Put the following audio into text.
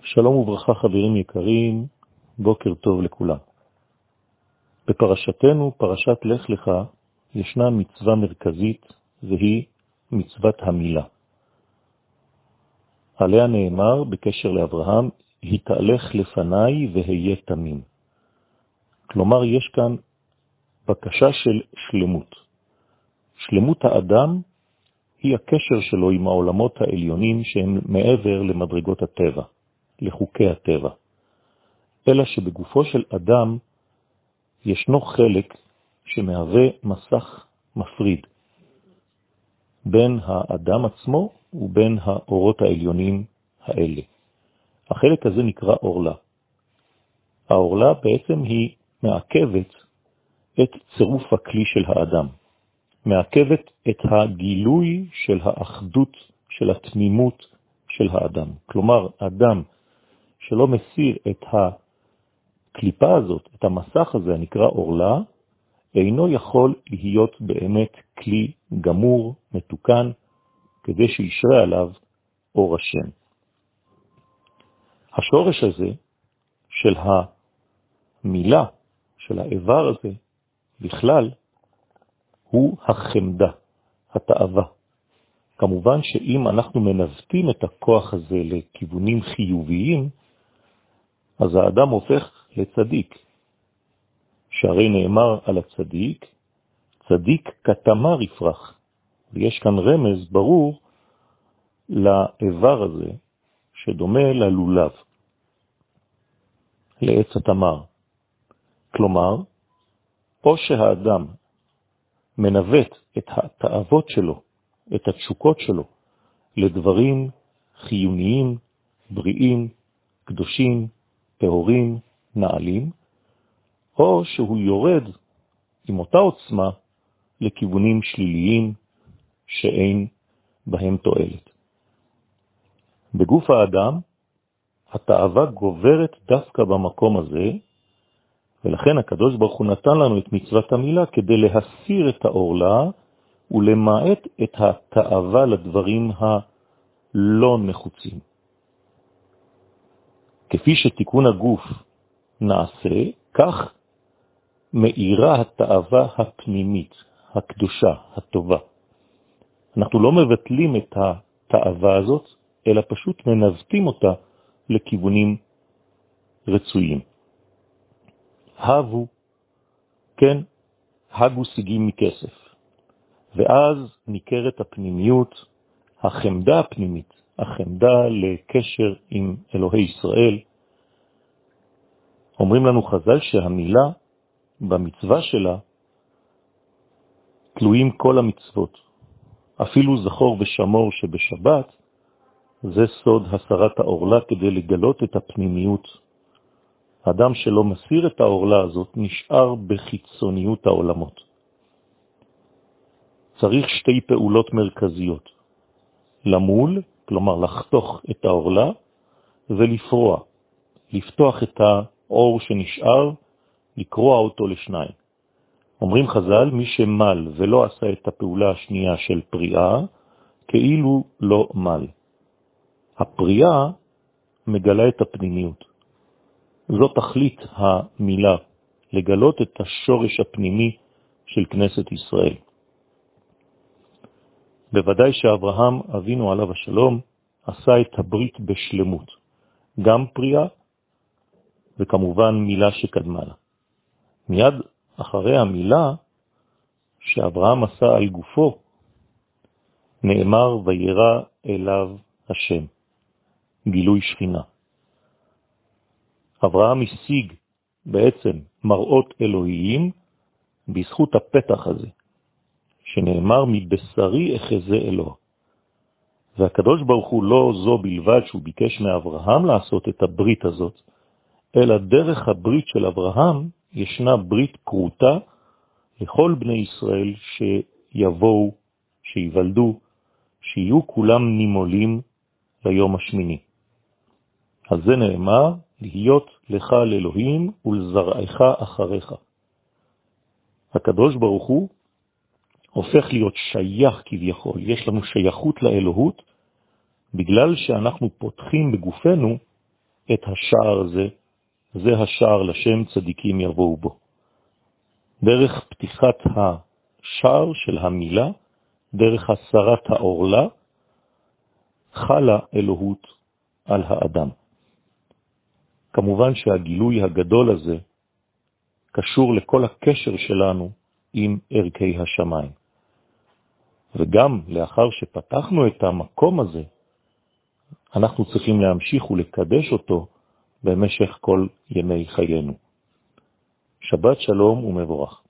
שלום וברכה חברים יקרים, בוקר טוב לכולם. בפרשתנו, פרשת לך לך, ישנה מצווה מרכזית והיא מצוות המילה. עליה נאמר בקשר לאברהם, התהלך לפניי והיה תמים. כלומר יש כאן בקשה של שלמות. שלמות האדם היא הקשר שלו עם העולמות העליונים שהם מעבר למדרגות הטבע, לחוקי הטבע. אלא שבגופו של אדם ישנו חלק שמהווה מסך מפריד בין האדם עצמו ובין האורות העליונים האלה. החלק הזה נקרא אורלה. האורלה בעצם היא מעכבת את צירוף הכלי של האדם, מעכבת את הגילוי של האחדות, של התמימות של האדם. כלומר, אדם שלא מסיר את הקליפה הזאת, את המסך הזה הנקרא אורלה, אינו יכול להיות באמת כלי גמור, מתוקן, כדי שישרה עליו אור השם. השורש הזה של המילה, של האיבר הזה, בכלל, הוא החמדה, התאווה. כמובן שאם אנחנו מנווטים את הכוח הזה לכיוונים חיוביים, אז האדם הופך לצדיק. שהרי נאמר על הצדיק, צדיק כתמר יפרח. ויש כאן רמז ברור לאיבר הזה, שדומה ללולב, לעץ התמר. כלומר, או שהאדם מנווט את התאוות שלו, את התשוקות שלו, לדברים חיוניים, בריאים, קדושים, טהורים, נעלים, או שהוא יורד עם אותה עוצמה לכיוונים שליליים שאין בהם תועלת. בגוף האדם, התאווה גוברת דווקא במקום הזה, ולכן הקדוש ברוך הוא נתן לנו את מצוות המילה כדי להסיר את האורלה ולמעט את התאווה לדברים הלא נחוצים. כפי שתיקון הגוף נעשה, כך מאירה התאווה הפנימית, הקדושה, הטובה. אנחנו לא מבטלים את התאווה הזאת, אלא פשוט מנווטים אותה לכיוונים רצויים. הבו, כן, הגו שיגים מכסף. ואז ניכרת הפנימיות, החמדה הפנימית, החמדה לקשר עם אלוהי ישראל. אומרים לנו חז"ל שהמילה במצווה שלה תלויים כל המצוות. אפילו זכור ושמור שבשבת, זה סוד הסרת האורלה כדי לגלות את הפנימיות. האדם שלא מסיר את האורלה הזאת נשאר בחיצוניות העולמות. צריך שתי פעולות מרכזיות. למול, כלומר לחתוך את האורלה, ולפרוע, לפתוח את האור שנשאר, לקרוע אותו לשניים. אומרים חז"ל, מי שמל ולא עשה את הפעולה השנייה של פריאה, כאילו לא מל. הפריאה מגלה את הפנימיות. זו תכלית המילה, לגלות את השורש הפנימי של כנסת ישראל. בוודאי שאברהם אבינו עליו השלום עשה את הברית בשלמות, גם פריאה וכמובן מילה שקדמה לה. מיד אחרי המילה שאברהם עשה על גופו, נאמר וירא אליו השם, גילוי שכינה. אברהם השיג בעצם מראות אלוהיים בזכות הפתח הזה, שנאמר מבשרי אחזה אלוה. והקדוש ברוך הוא לא זו בלבד שהוא ביקש מאברהם לעשות את הברית הזאת, אלא דרך הברית של אברהם ישנה ברית קרוטה לכל בני ישראל שיבואו, שיוולדו, שיהיו כולם נימולים ליום השמיני. על זה נאמר, להיות לך לאלוהים ולזרעך אחריך. הקדוש ברוך הוא הופך להיות שייך כביכול, יש לנו שייכות לאלוהות, בגלל שאנחנו פותחים בגופנו את השער הזה, זה השער לשם צדיקים יבואו בו. דרך פתיחת השער של המילה, דרך הסרת העורלה, חלה אלוהות על האדם. כמובן שהגילוי הגדול הזה קשור לכל הקשר שלנו עם ערכי השמיים. וגם לאחר שפתחנו את המקום הזה, אנחנו צריכים להמשיך ולקדש אותו במשך כל ימי חיינו. שבת שלום ומבורך.